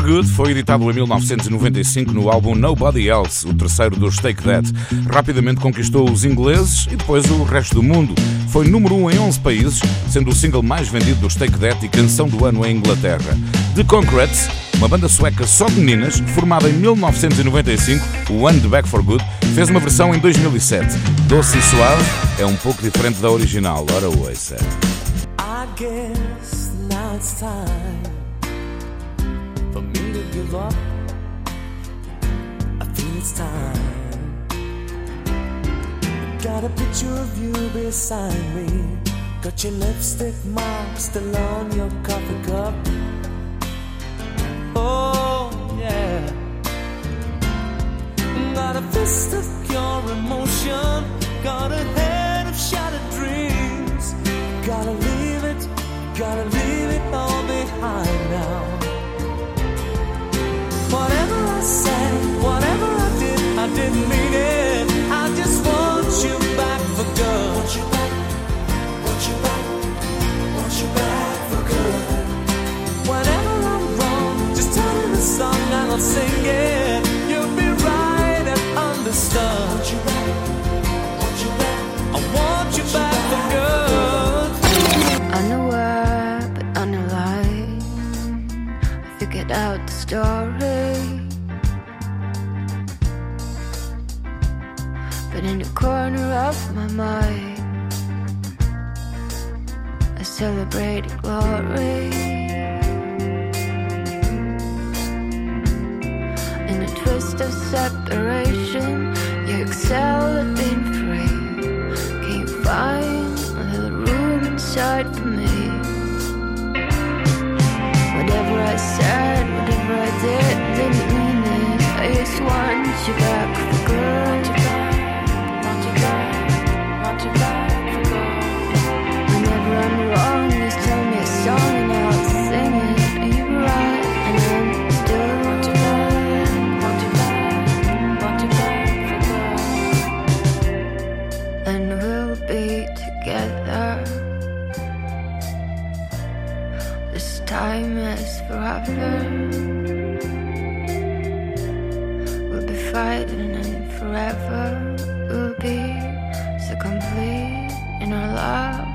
Good foi editado em 1995 no álbum Nobody Else, o terceiro dos Take That. Rapidamente conquistou os ingleses e depois o resto do mundo. Foi número 1 em 11 países, sendo o single mais vendido dos Take That e canção do ano em Inglaterra. The Concretes, uma banda sueca só de meninas, formada em 1995, o One The Back for Good, fez uma versão em 2007. Doce e suave, é um pouco diferente da original. Ora, ouça. I guess now it's time for me to give up. I feel it's time. Got a picture of you beside me. Got your lipstick mark still on your coffee cup. Oh yeah. Got a fist of pure emotion. Got a head of shattered dreams. Gotta leave it all behind now. Whatever I said, whatever I didn't mean it. I just want you back for good. Want you back, want you back, want you back for good. Whenever I'm wrong, just tell me the song and I'll sing it. You'll be right and understood. Want you back, want you back, I want you back for good. Unaware but unalive, I figured out the story. But in the corner of my mind, I celebrated glory. In the twist of separation, you excel at being free. Can't find a little room inside for me. Whatever I said, whatever I did, didn't mean it. I just want you back for good. Want you back, want you back for good. Whenever I'm wrong, just tell me a song and I'll sing it. Are you right? And I'm still want you back, want you back, want you back for good. And we'll be together. This time is forever. We'll be fighting and forever. We'll be so complete in our love.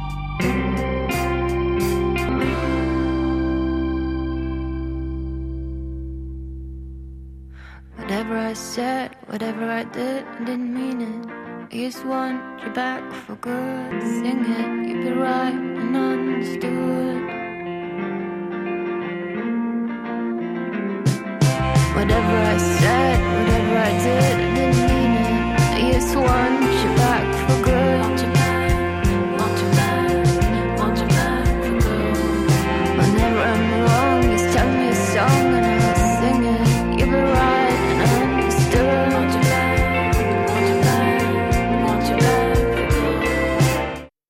Whatever I said, whatever I didn't mean it. I just want you back for good. Sing it, you'd be right and understood. Whatever I said, whatever I did,